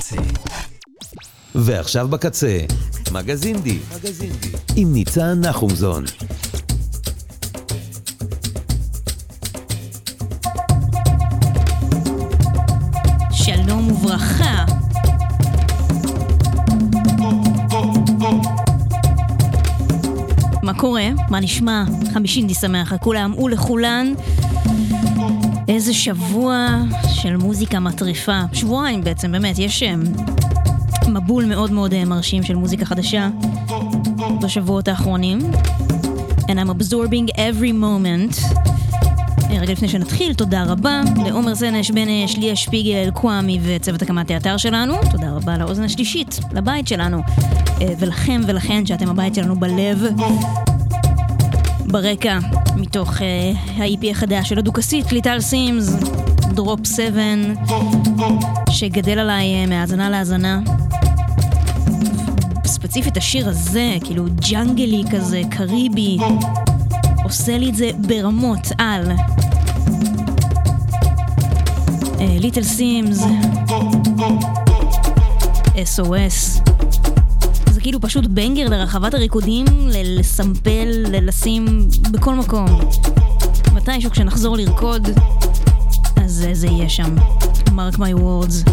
ועכשיו בקצה, מגזין די, עם ניצן נחומזון. שלום וברכה. מה קורה? מה נשמע? 50 די שמח לכולם ולכולן. איזה שבוע של מוזיקה מטריפה. שבועיים בעצם, באמת, יש מבול מאוד מאוד מרשים של מוזיקה חדשה בשבועות האחרונים. And I'm absorbing every moment. רגע לפני שנתחיל, תודה רבה לעומר זנש, בנש, ליה שפיגל, קוואמי וצוות הקמת האתר שלנו. תודה רבה לאוזן השלישית, לבית שלנו, ולכם ולכן שאתם הבית שלנו בלב. ברקע, מתוך ה-EP החדש של הדוקסית, ליטל סימס, דרופ 7, שגדל עליי מהאזנה להאזנה. ספציפית השיר הזה, כאילו ג'אנגלי כזה, קריבי, עושה לי את זה ברמות על ליטל סימס, SOS. זה כאילו פשוט בנגר לרחבת הריקודים, לסמפל, לשים בכל מקום. מתישהו כשנחזור לרקוד, אז זה יהיה שם. Mark my words.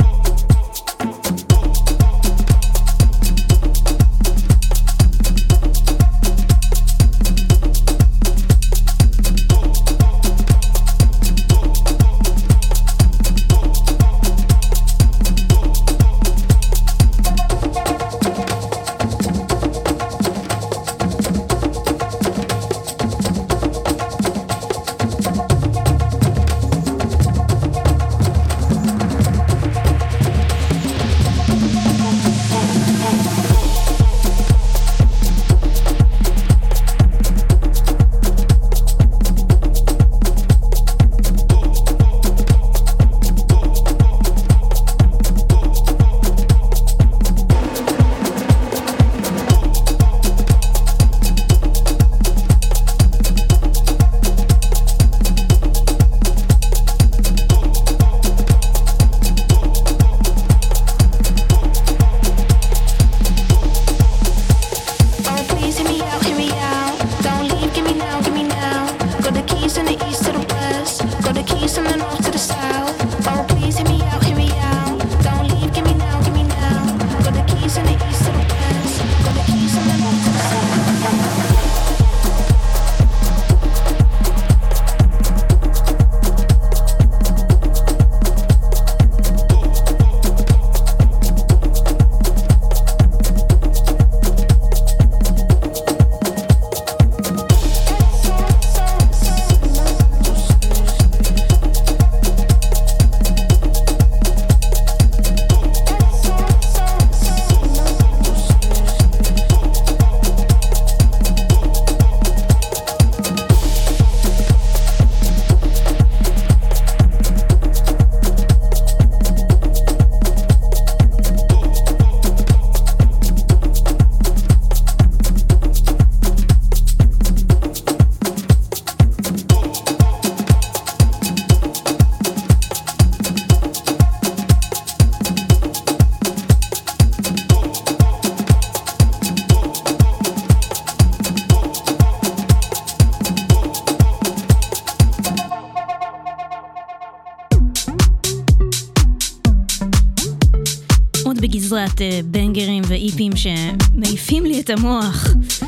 בגזרת בנגרים ואיפים שמעיפים לי את המוח.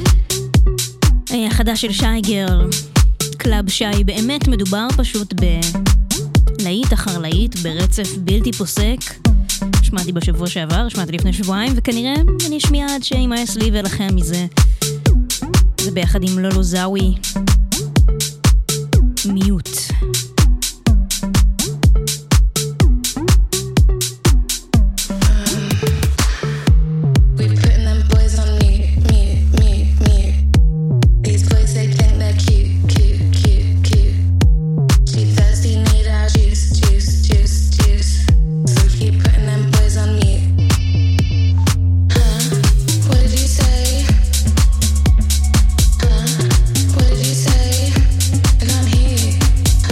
החדש של שי גרל, קלאב שי. באמת מדובר פשוט בלהיט אחר להיט, ברצף בלתי פוסק. שמעתי בשבוע שעבר, שמעתי לפני שבועיים, וכנראה אני אשמיע עד שימאס לי ולכם מזה. זה ביחד עם לולו זאווי, מיוט. What did you say? I can't hear.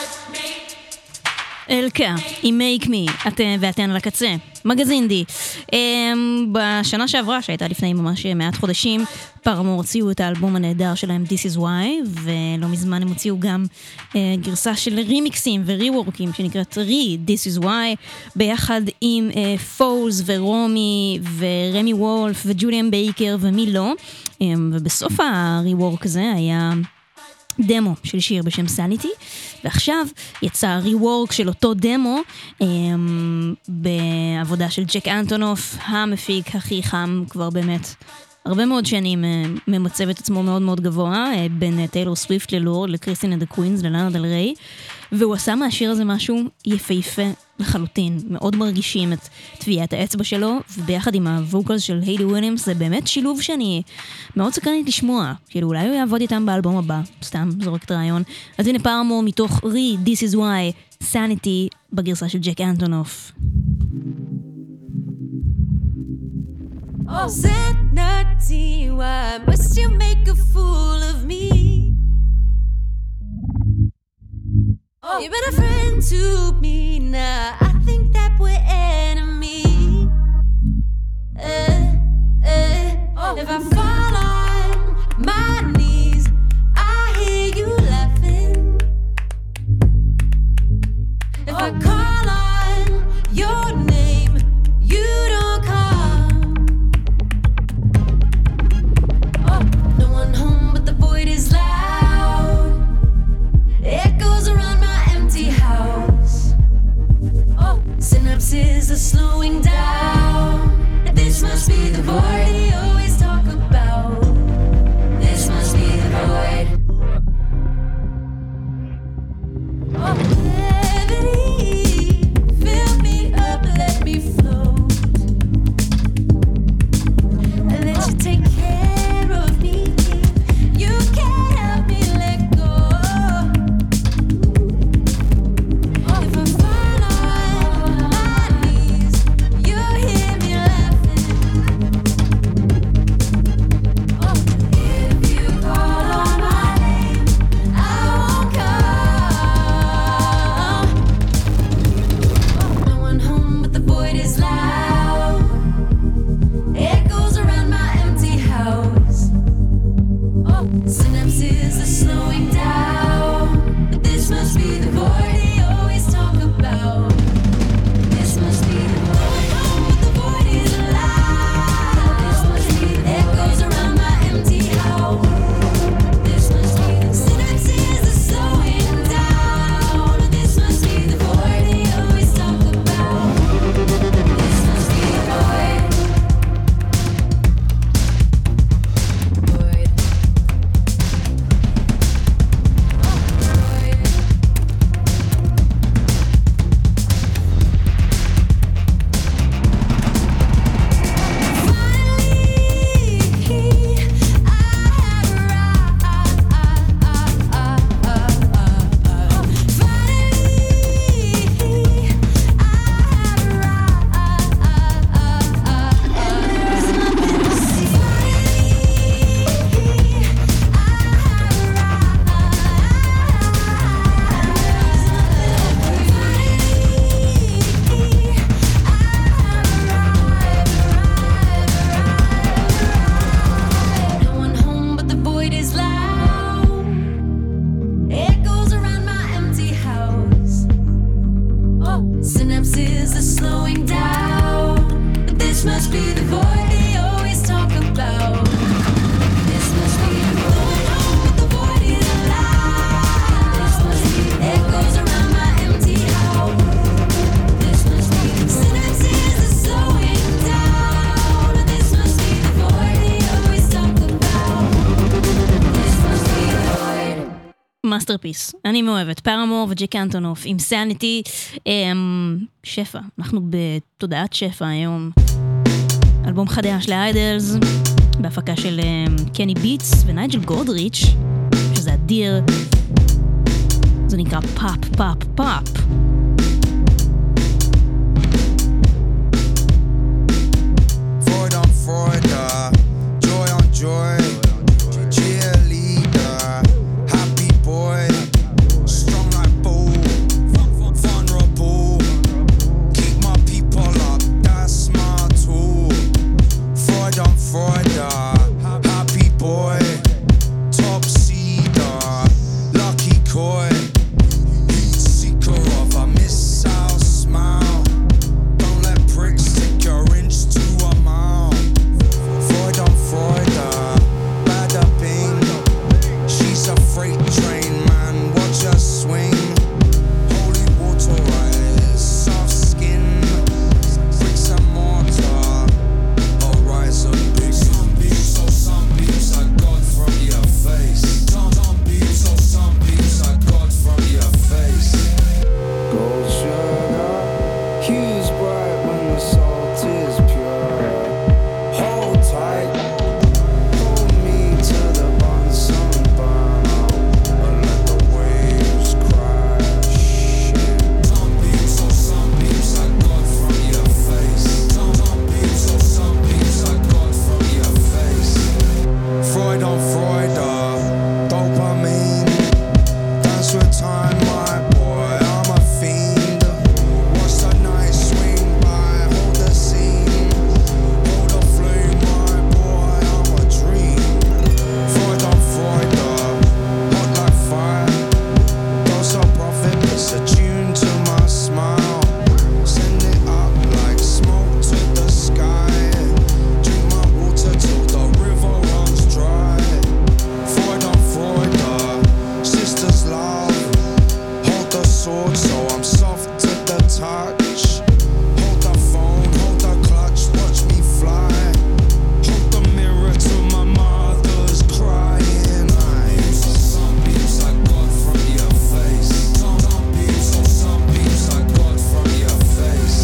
אלקה, עם Make Me, אתם ואתן על הקצה, מגזין די. בשנה שעברה, שהייתה לפני ממש מעט חודשים, פארמור הוציאו את האלבום הנהדר שלהם This Is Why, ולא מזמן הם הוציאו גם גרסה של רימיקסים וריוורקים שנקראת This Is Why, ביחד עם פולס ורומי ורמי וולף וג'וליאן בייקר ומי לא, ובסוף הריוורק הזה היה דמו של שיר בשם סניטי, ועכשיו יצא ריוורק של אותו דמו בעבודה של ג'ק אנטונוף, המפיק הכי חם כבר באמת הרבה מאוד שנים, ממצב את עצמו מאוד מאוד גבוה, בין טיילור סוויפט ללורד, לקריסטין אנד הקווינס, ללאנה דל ריי, והוא עשה מהשיר הזה משהו יפהפה לחלוטין, מאוד מרגישים את טביעת האצבע שלו, וביחד עם הווקלס של היילי וויליאמס, זה באמת שילוב שאני מאוד סקרנית לשמוע, כאילו אולי הוא יעבוד איתם באלבום הבא, סתם זורקת רעיון. אז הנה פארמור מתוך This Is Why, Sanity, בגרסה של ג'ק אנטונוף. Oh, Sanity, why must you make a fool of me? Oh, you've been a friend to me, now I think that we're enemies. If I fall on my knees, I hear you laughing. If I call on your name, you don't come. Oh, no one home but the void is loud. Echoes around my empty house. Oh, synapses are slowing down. This must be the void you always talk about. This must be the void. Oh, gravity, fill me up, let me float. And let you take care of me. You can't help me let go. If I fall on my knees, you hear me laughing. If you call on my name, I won't come. No one home but the void is loud. Echoes around my empty house. Synapses are slowing down. But this must be the void they always talk about. This must be the void, but the void is alive. This must be the echoes around my empty house. This must be the synapses are slowing down. This must be the void they always talk about. This must be the void. Void. No one home but the void is loud. Echoes around my empty house. Synapses are slowing down. But this must be the void they always talk about. This must be the void, but the void is alive. This must be echoes around my empty house. This must be synapses are slowing down. This must be the void they always talk about. This must be the void. מאסטרפיס, אני מאוהבת, פארמור וג'ק אנטונוף עם סניטי, שפע, אנחנו בתודעת שפע היום, אלבום חדש לאיידלס, בהפקה של קני ביטס ונייג'ל גולדריץ', שזה אדיר, זה נקרא פאפ פאפ פאפ. Freud on Freud, joy on joy, cheerleader, happy boy, strong like bull, sword, so I'm soft to the touch. Hold the phone, hold the clutch, watch me fly. Hold the mirror to my mother's crying eyes. Some beams I got from your face. Some beams I got from your face.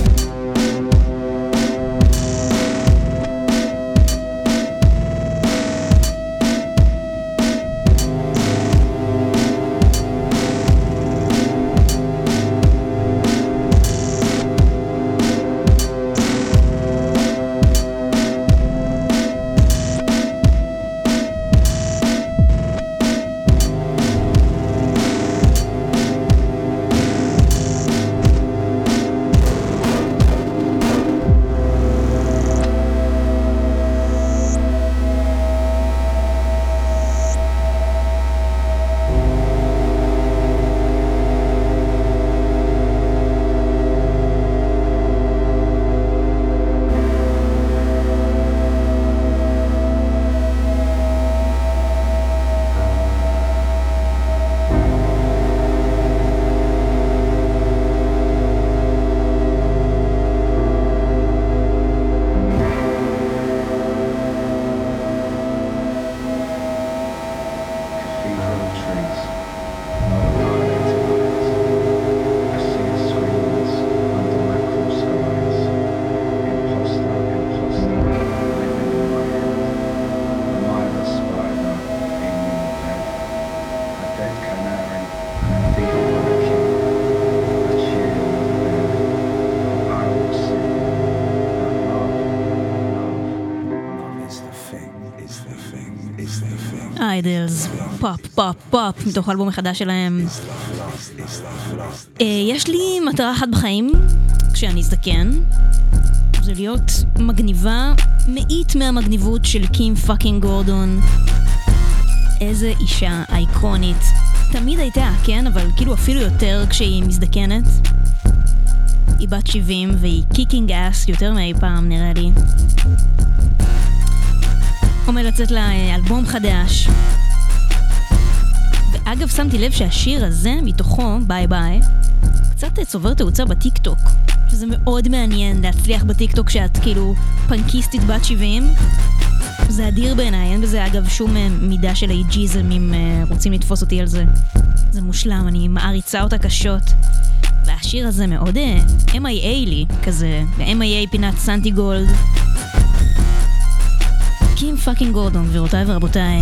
איידלס, פופ, פופ, פופ, מתוך האלבום החדש שלהם. יש לי מטרה אחת בחיים, כשאני אזדקן, זה להיות מגניבה, מאית מהמגניבות של קים פאקינג גורדון. איזה אישה אייקונית. תמיד הייתה, כן? אבל כאילו אפילו יותר כשהיא מזדקנת. היא בת 70 והיא קיקינג אס יותר מאי פעם נראה לי. עומד לצאת לה אלבום חדש. ואגב שמתי לב שהשיר הזה מתוכו, ביי ביי, קצת צובר תאוצה בטיקטוק, שזה מאוד מעניין להצליח בטיקטוק שאת כאילו פנקיסטית בת 70. זה אדיר בעיניי, אין בזה אגב שום מידה של אייג'יזם אם רוצים לתפוס אותי על זה. זה מושלם, אני מעריצה אותה קשות. והשיר הזה מאוד MIA לי, כזה, ו-MIA פינת סנטי גולד. קים פאקינג גורדון, גבירותיי ורבותיי.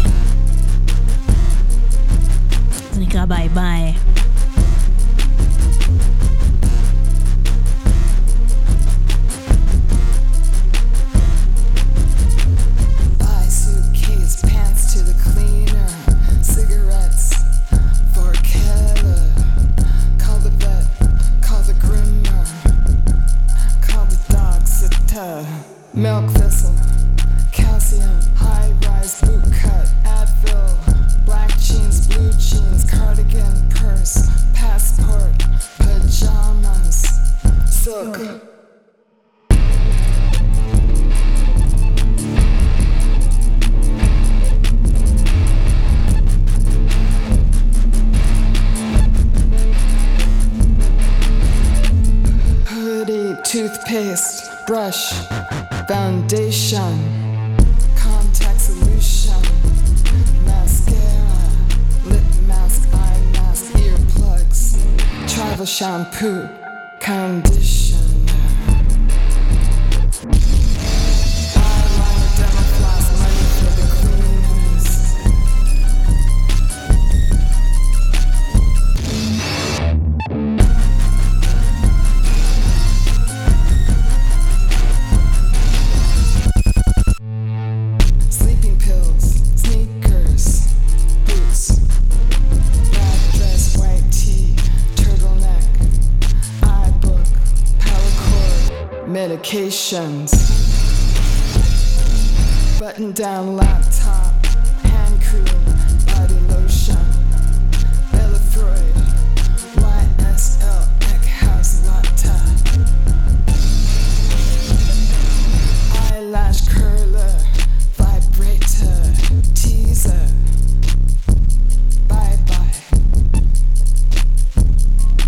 זה נקרא ביי ביי. Milk thistle, calcium, high-rise boot cut, Advil, black jeans, blue jeans, cardigan, purse, passport, pajamas, silk. Hoodie, toothpaste, brush, foundation, contact solution, mascara, lip mask, eye mask, earplugs, travel shampoo, conditioner, eyeliner, demo floss, money for the cleaners. Medications, button down laptop, hand cream, body lotion, Elefroid, YSL, Eckhouse Latte, eyelash curler, vibrator, teaser, bye bye.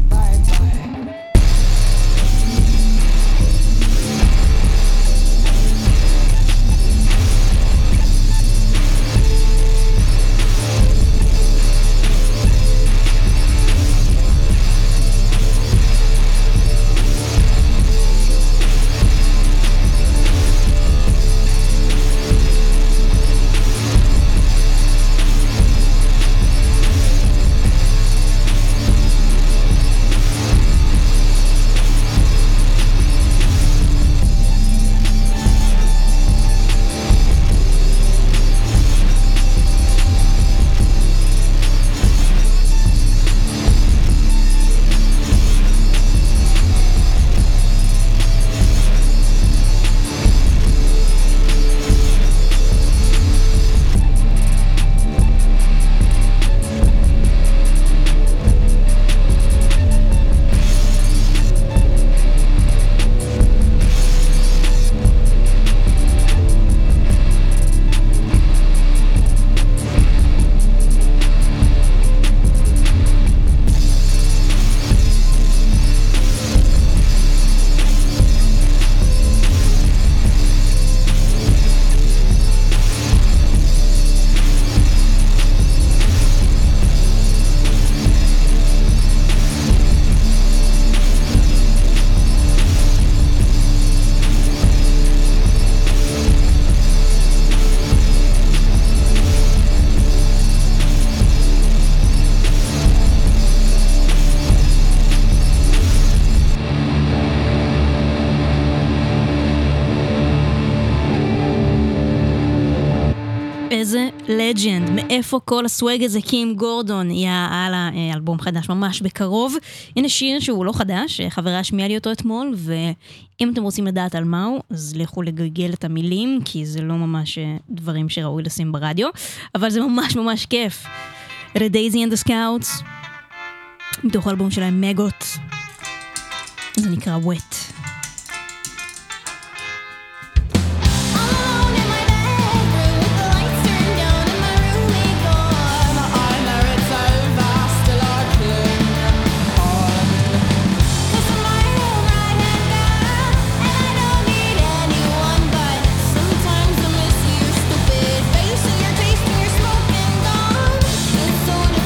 לג'נד, מאיפה כל הסווג הזה? קים גורדון יהיה על האלבום חדש ממש בקרוב. הנה שיר שהוא לא חדש, חברה השמיעה לי אותו אתמול, ואם אתם רוצים לדעת על מהו, אז לכו לגגל את המילים, כי זה לא ממש דברים שראוי לשים ברדיו, אבל זה ממש ממש כיף. אלה דייזי אנד הסקאוטס, מתוך האלבום שלהם מגות, זה נקרא ווט.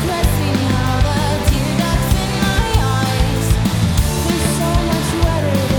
So much wetter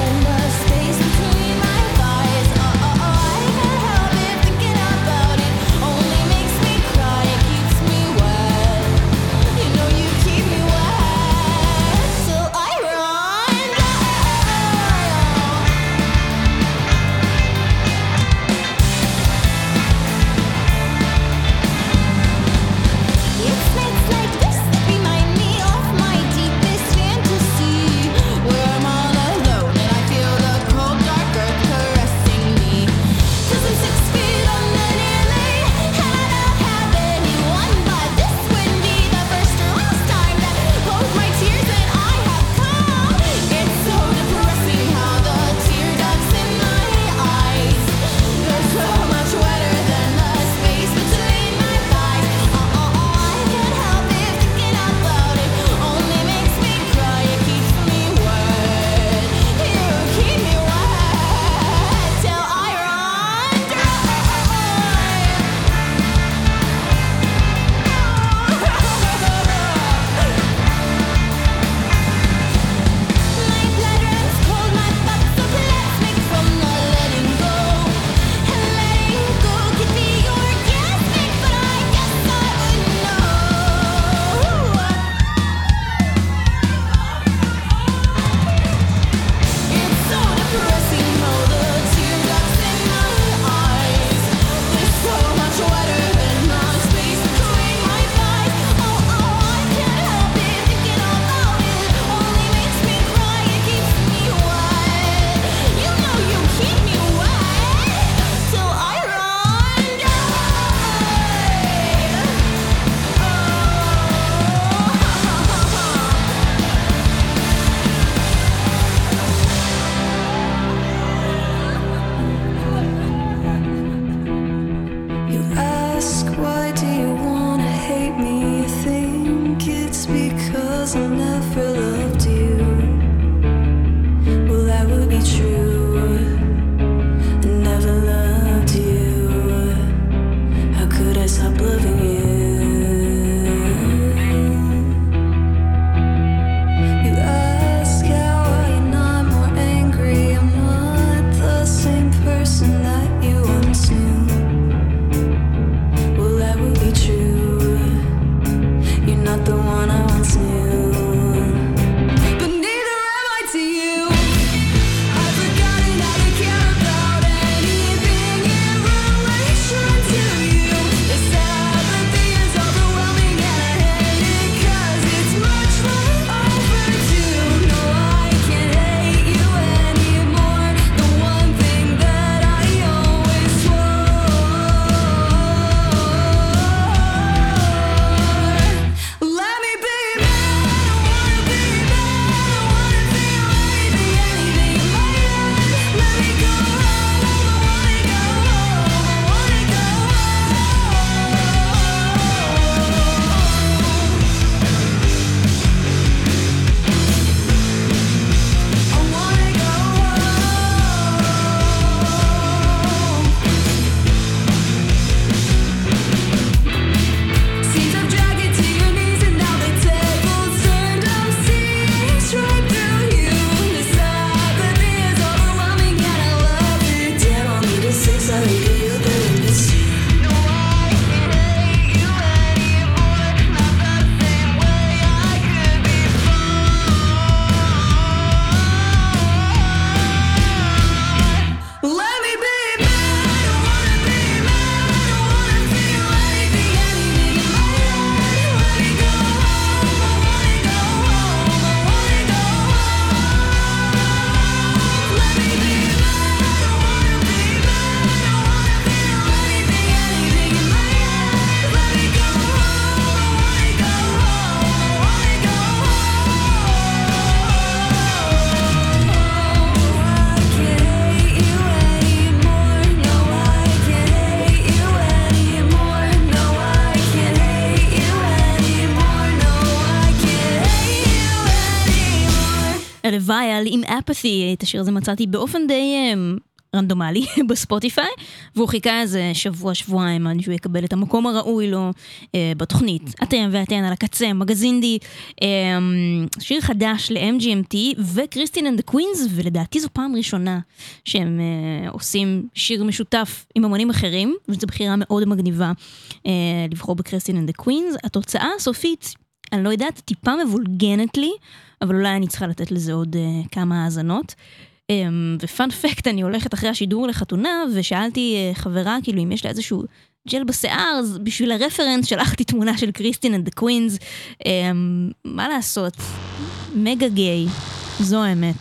לווייל עם אפאתי, את השיר הזה מצאתי באופן די רנדומלי בספוטיפיי, והוא חיכה איזה שבוע-שבועיים עד שהוא יקבל את המקום הראוי לו בתוכנית. אתם ואתן על הקצה, מגזינדי, שיר חדש ל-MGMT וקריסטין אנד הקווינס, ולדעתי זו פעם ראשונה שהם עושים שיר משותף עם אמנים אחרים, וזו בחירה מאוד מגניבה לבחור בקריסטין אנד הקווינס. התוצאה הסופית, אני לא יודעת, טיפה מבולגנת לי, אבל אולי אני צריכה לתת לזה עוד כמה האזנות. ופן פקט, אני הולכת אחרי השידור לחתונה, ושאלתי חברה, כאילו, אם יש לה איזשהו ג'ל בשיער, אז בשביל הרפרנס שלחתי תמונה של קריסטין אנד הקווינס. מה לעשות? מגה גיי, זו האמת.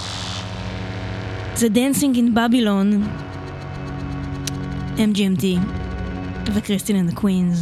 זה Dancing in Babylon, MGMT, וקריסטין אנד הקווינס.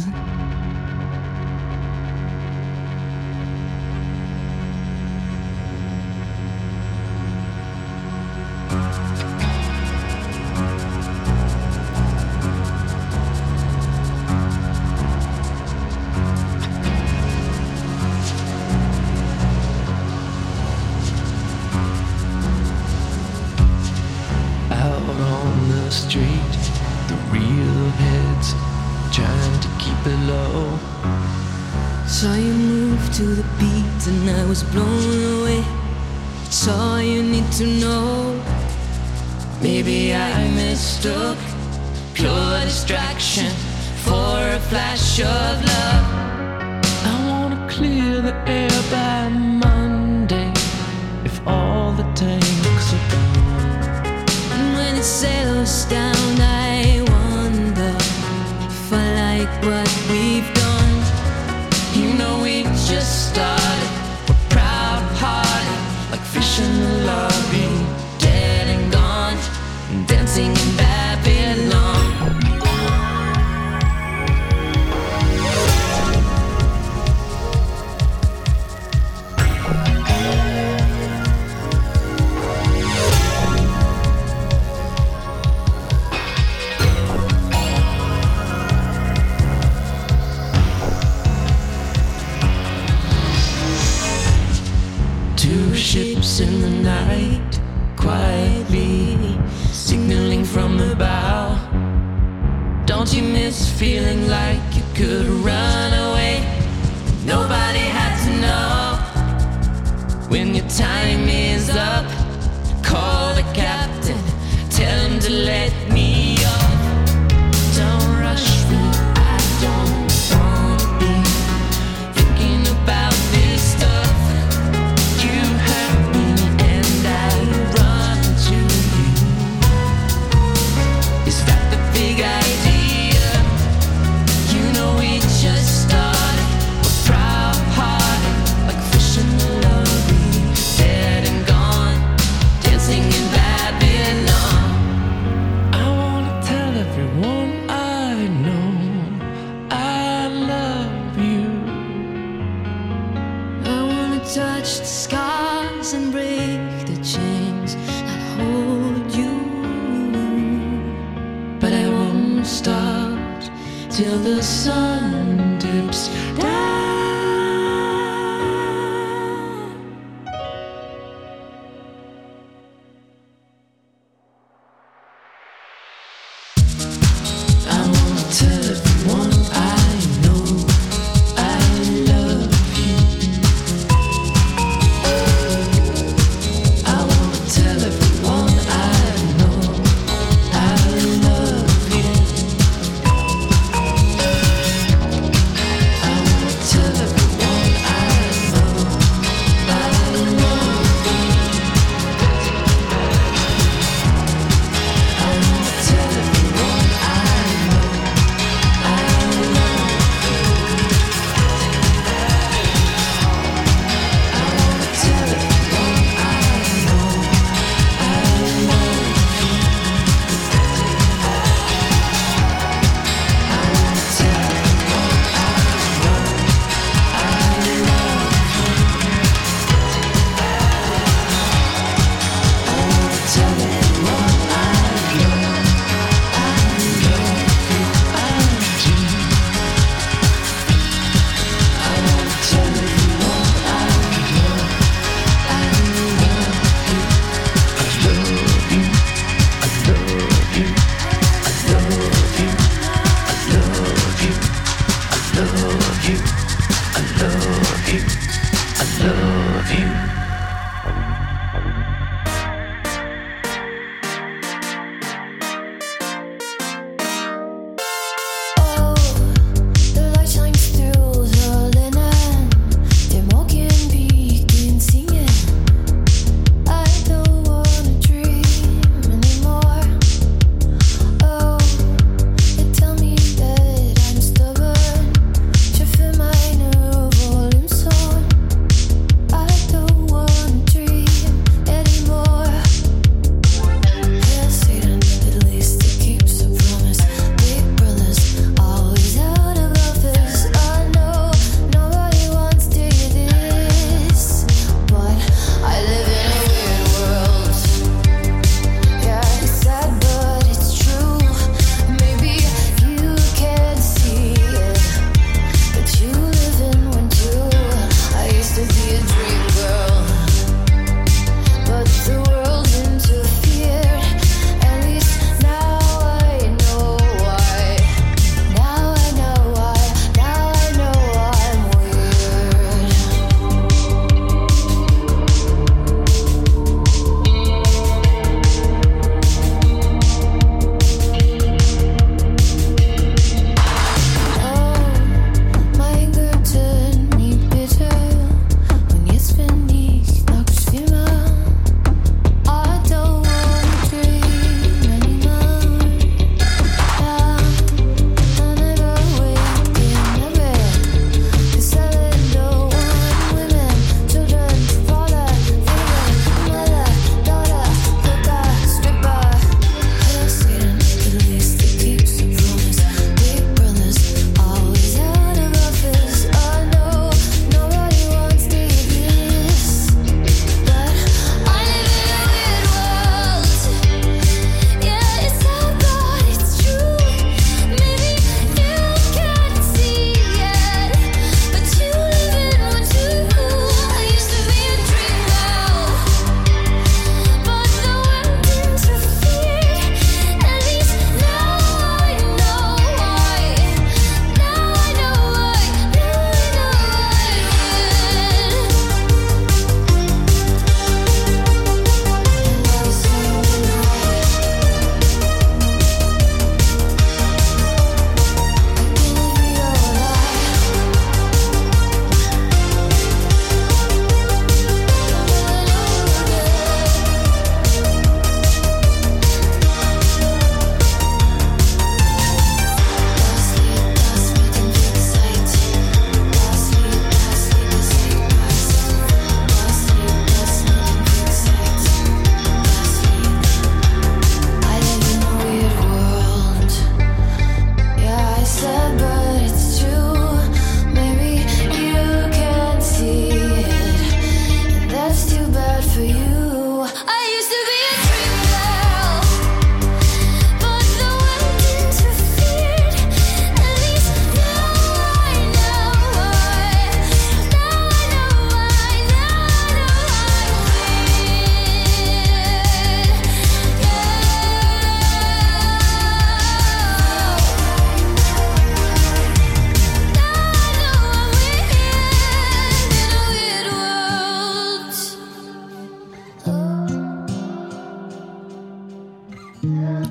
Street, the real heads trying to keep it low. Saw you move to the beat and I was blown away. It's all you need to know. Maybe I mistook pure distraction for a flash of love. I wanna clear the air by Monday if all the tanks are gone. And when it settles down, I wonder if I like what we've done. You know we just started. We're proud-hearted, like fish in the lobby, dead and gone, dancing in Babylon. Ships in the night, quietly signaling from the bow. Don't you miss feeling like you could run away? Nobody had to know. When your time is up, call the captain, tell him to let me off. Don't rush me, I don't want to be thinking about this stuff. You hurt me and I run to you. Is that the big idea? You know we just started. We're proud-hearted, like fish in the lobby, dead and gone, dancing in Babylon. I wanna tell everyone I know I love you. I wanna touch the scars and break the chains that hold you. But I won't stop till the sun dips down. I wanna tell everyone I know I love you. I wanna tell everyone I know I love you.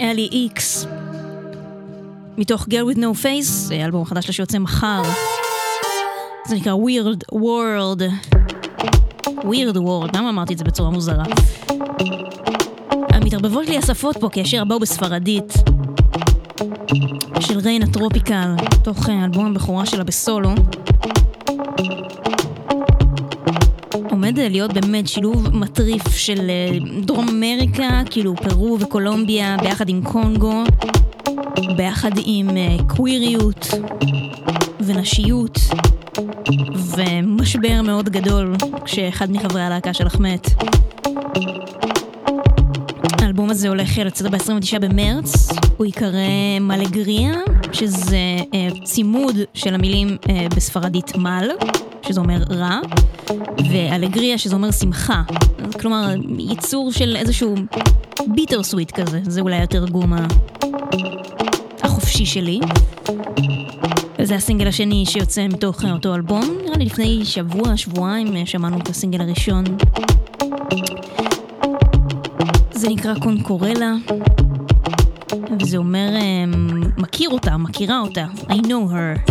אלי איקס, מתוך Girl with No Face, אלבום חדש שיוצא מחר. זה נקרא Weird World. Weird World, למה אמרתי את זה בצורה מוזרה? מתערבבות לי השפות פה, כי השיר הבא הוא בספרדית, של ריינה טרופיקל, תוך אלבום הבכורה שלה בסולו. עומד להיות באמת שילוב מטריף של דרום אמריקה, כאילו פרו וקולומביה, ביחד עם קונגו, ביחד עם קוויריות ונשיות, ומשבר מאוד גדול כשאחד מחברי הלהקה שלך מת. האלבום הזה הולך לצאת ב-29 במרץ, הוא יקרא מלגריה, שזה צימוד של המילים בספרדית מל, שזה אומר רע, ואלגריה, שזה אומר שמחה. כלומר, ייצור של איזשהו ביטר סוויט כזה, זה אולי התרגום החופשי שלי. זה הסינגל השני שיוצא מתוך אותו אלבום, נראה לי לפני שבועיים שמענו את הסינגל הראשון. זה נקרא קונקורלה, וזה אומר מכירה אותה, I know her.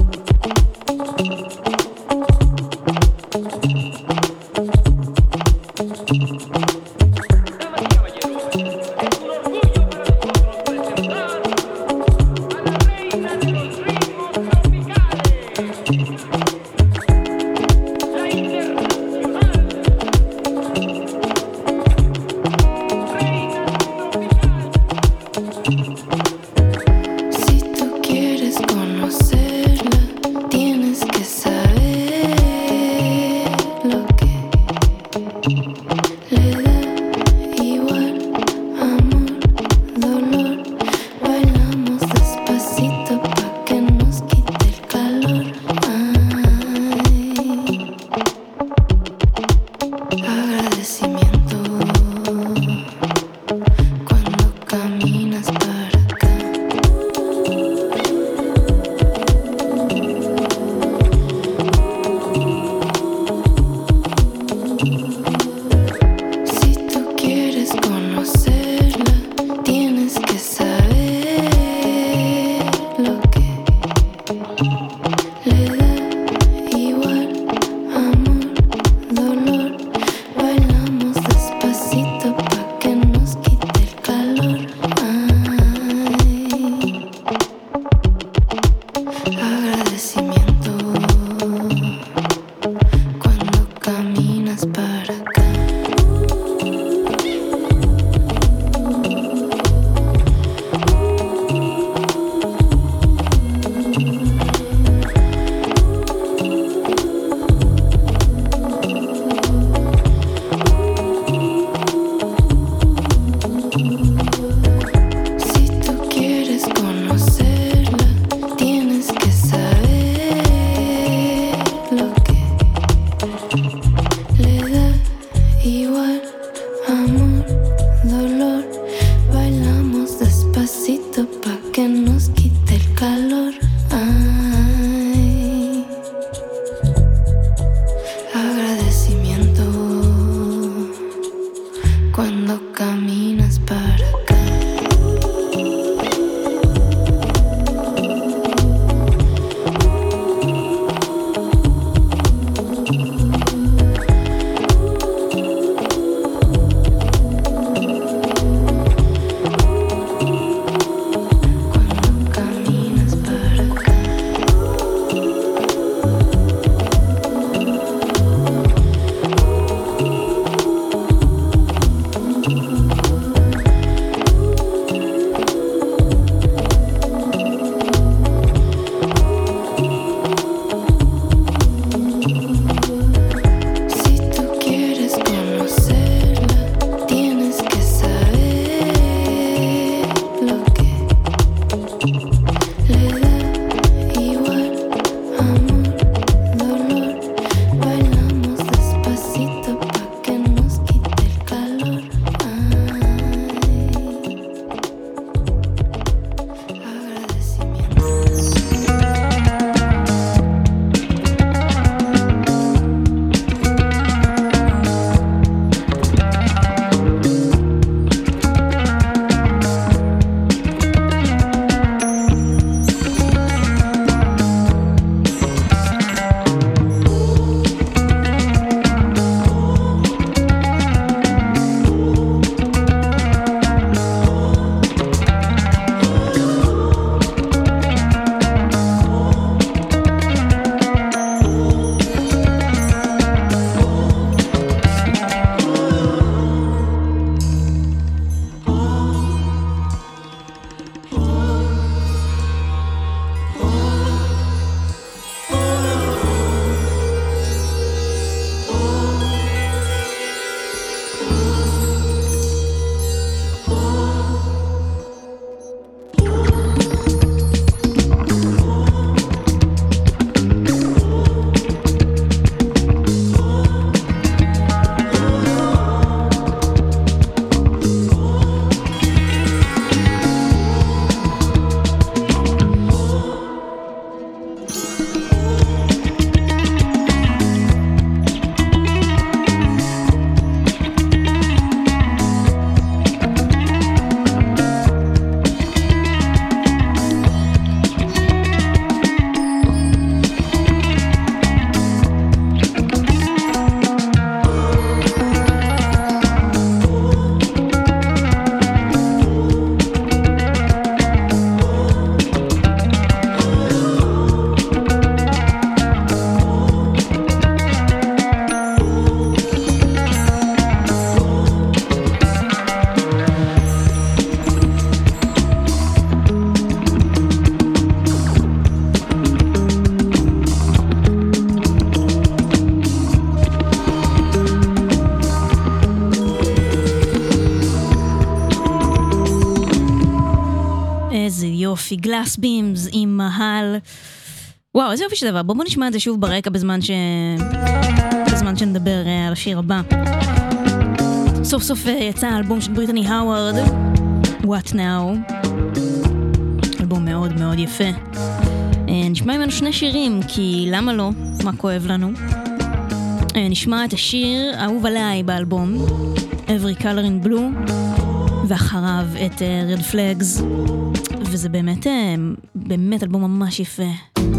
יופי, גלאס בימס עם מהל. וואו, איזה יופי שדבר. בואו נשמע את זה שוב ברקע בזמן שנדבר על השיר הבא. סוף סוף יצא האלבום של בריטני האוורד, What Now. אלבום מאוד מאוד יפה. נשמע ממנו שני שירים, כי למה לא? מה כואב לנו? נשמע את השיר אהוב עליי באלבום, Every Color in Blue, ואחריו את Red Flags, וזה באמת אלבום ממש יפה.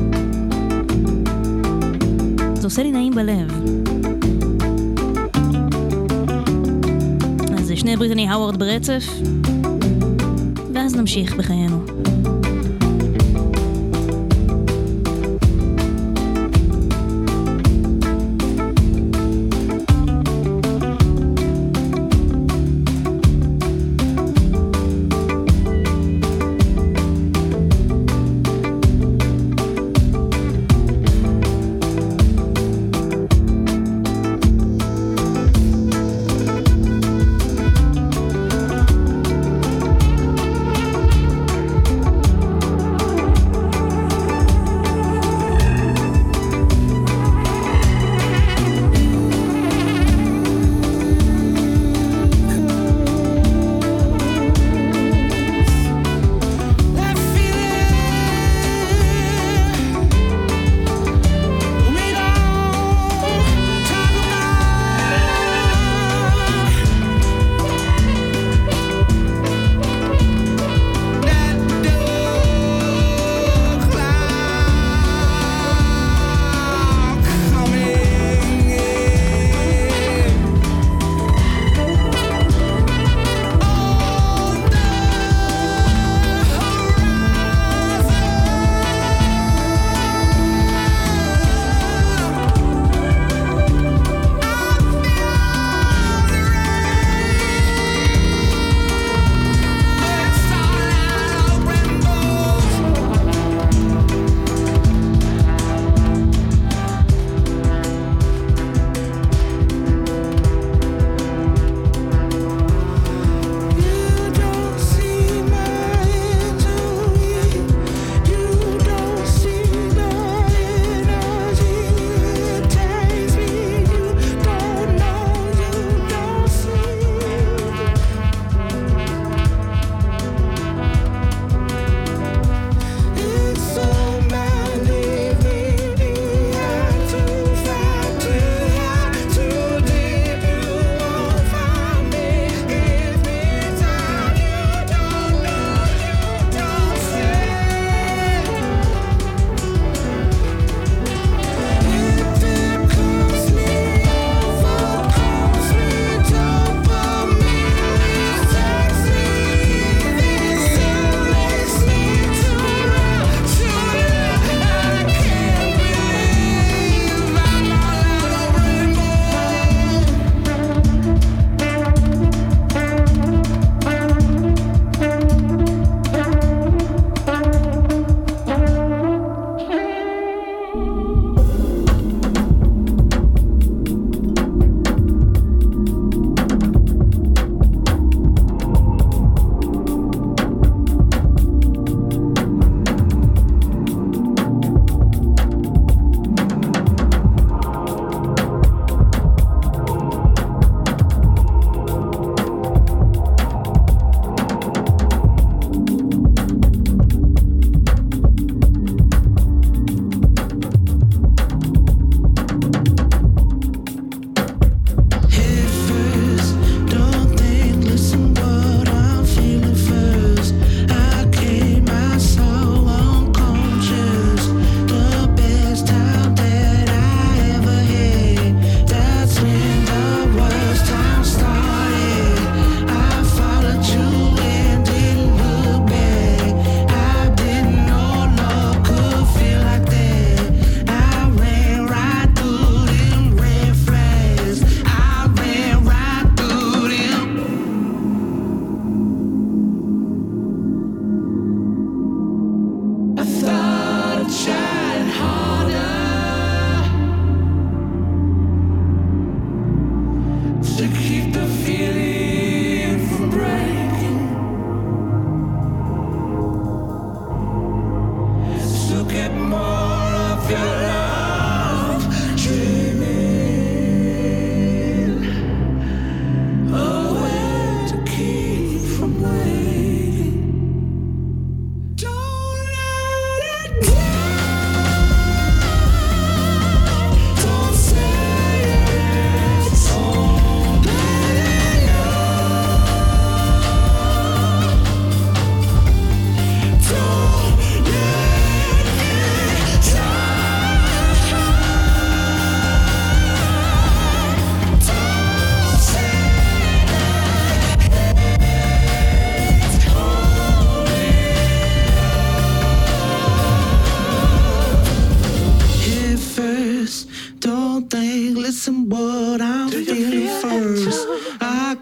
זה עושה לי נעים בלב. אז שני בריטני האוורד ברצף, ואז נמשיך בחיינו.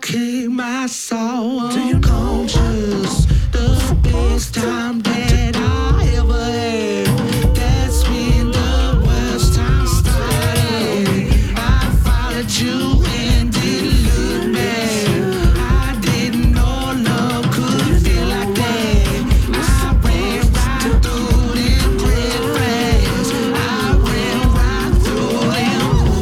kick my soul unconscious. The best time that I ever had. That's when the worst time started. I followed you and didn't look back. I didn't know love could feel like that. I ran right through them red flags. I ran right through them.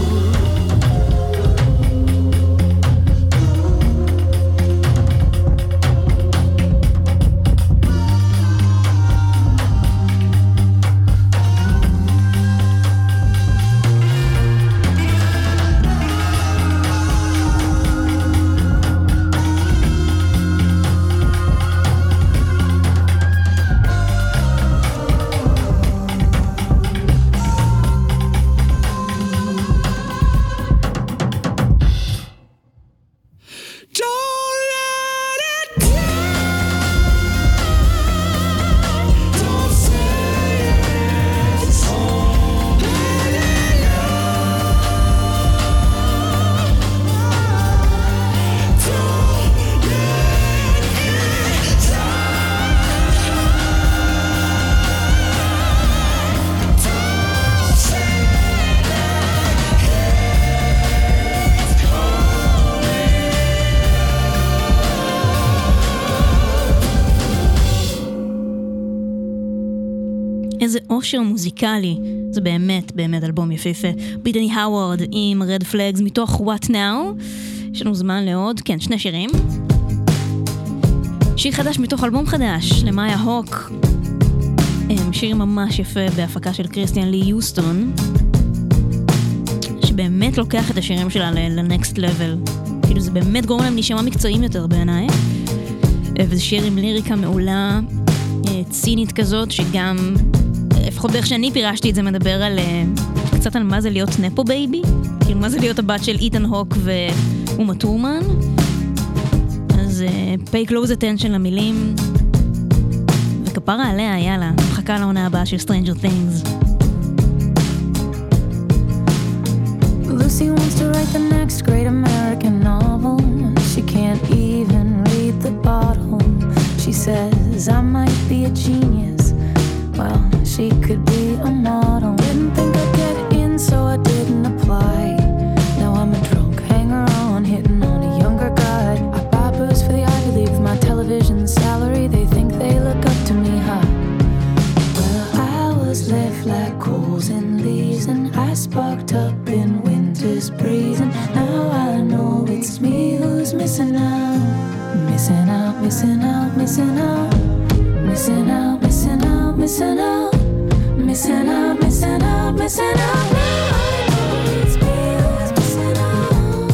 Don't let it down. Don't say it's all. Let it out. Don't let it down. Don't say איזה אושר מוזיקלי, זה באמת באמת אלבום יפהפה. ביטני האוורד עם רד פלאגס מתוך What Now. יש לנו זמן לעוד, כן, 2 שירים. שיר חדש מתוך אלבום חדש למאיה הוק, שיר ממש יפה בהפקה של קריסטיאן לי יוסטון, שבאמת לוקח את השירים שלה לנקסט לבל, כאילו זה באמת גורם להם להישמע מקצועיים יותר בעיניי. וזה שיר עם ליריקה מעולה, צינית כזאת, שגם לפחות באיך שאני פירשתי את זה מדבר על קצת על מה זה להיות נפו בייבי, כאילו מה זה להיות הבת של איתן הוק ואומה טורמן. אז pay close attention למילים, וכפרה עליה, יאללה, מחכה לעונה הבאה של Stranger Things. Lucy wants to write the next great American novel. She can't even read the bottle. She says I might be a genius. Well, she could be a model. Didn't think I'd get in, so I didn't apply. Now I'm a drunk hanger-on, hitting on a younger guy. I buy booze for the Ivy League with my television salary. They think they look up to me, huh? Well, I was left like coals and leaves, and I sparked up in winter's breeze. And now I know it's me who's missing out. Missing out, missing out, missing out. Missing out, missing out, missing out. Missing out, missing out, missing out. Now I know it's me who's missing out.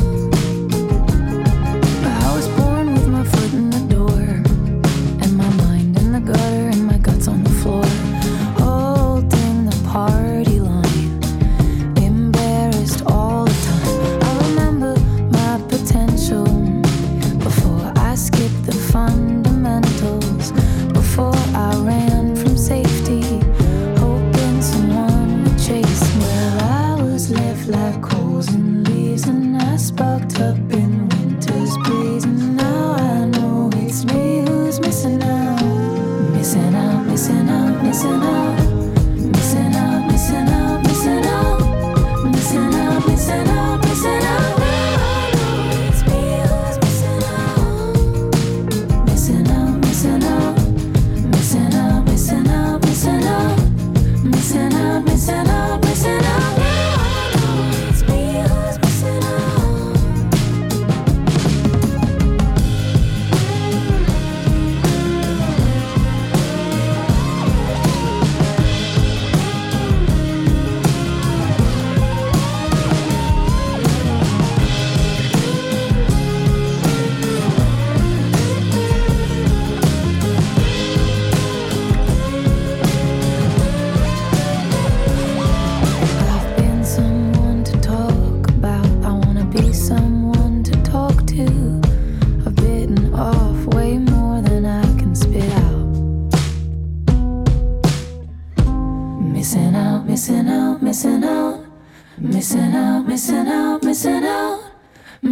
I was born with my foot in the door, and my mind in the gutter, and my guts on the floor, holding the party line, embarrassed all the time. I remember my potential before I skipped the fundamentals, before I ran from safety, hoping someone would chase me. Well,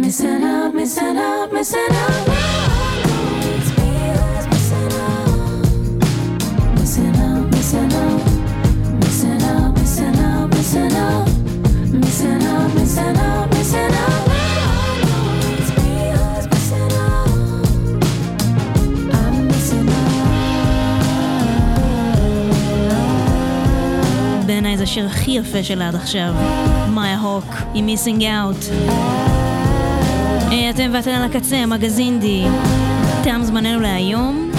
Missing out, missing out, missing out. It's me who's missing out. Missing out, missing out. Missing out, missing out, missing out. Missing out, missing out, missing out. It's me who's missing out. I'm missing out. בעיניי זה השיר הכי יפה שלה עד עכשיו. מאיה הוק, היא Missing Out. אתם ואתן על הקצה, מגזינדי. תם זמננו להיום.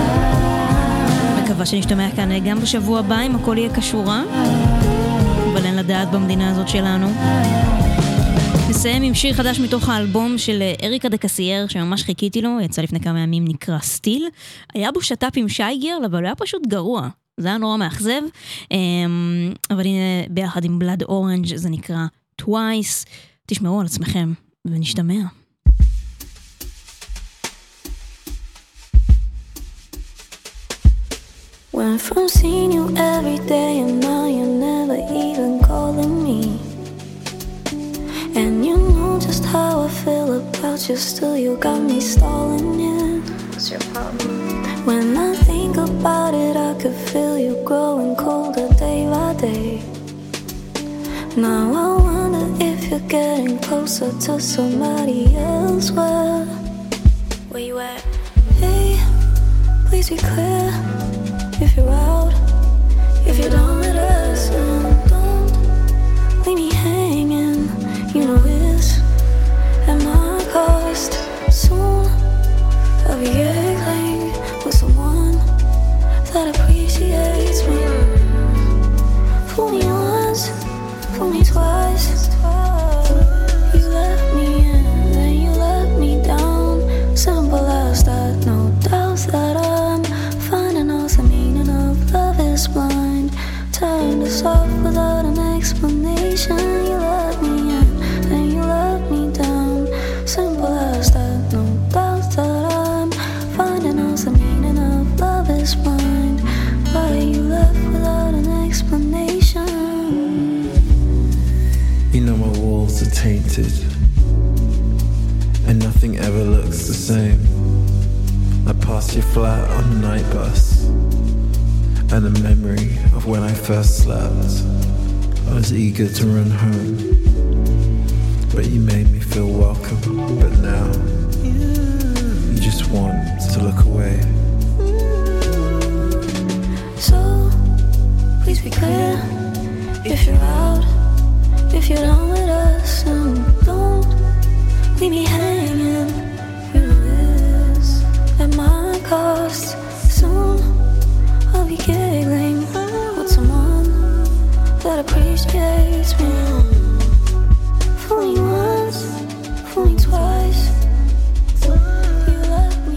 מקווה שנשתמע כאן גם בשבוע הבא, אם הכל יהיה קשורה. אבל אין לדעת במדינה הזאת שלנו. נסיים עם שיר חדש מתוך האלבום של אריקה דה קסייר, שממש חיכיתי לו, יצא לפני כמה ימים, נקרא סטיל. היה בו שטאפ עם שייגר, אבל הוא היה פשוט גרוע. זה היה נורא מאכזב. אבל הנה, ביחד עם בלאד אורנג' זה נקרא Twice. תשמעו על עצמכם, ונשתמע. Went from seeing you every day and now you're never even calling me. And you know just how I feel about you, still you got me stalling, yeah. What's your problem? When I think about it, I could feel you growing colder day by day. Now I wonder if you're getting closer to somebody else. Where you at? Hey, please be clear. If you're out, if you're done with us, don't leave me hanging. You know it's at my cost. Soon I'll be giggling with someone that appreciates me. Fool me once, fool me twice. You let me in, then you let me down. Simple as that, no doubts that I'm finding out the meaning of love is blind. Turned us off without an explanation. You let me in, then you let me down. Simple as that, no doubts that I'm finding out the meaning of love is blind. Why you left without an explanation? You know my walls are tainted, and nothing ever looks the same. I passed you flat on the night bus, and the memory of when I first slept. I was eager to run home, but you made me feel welcome. But now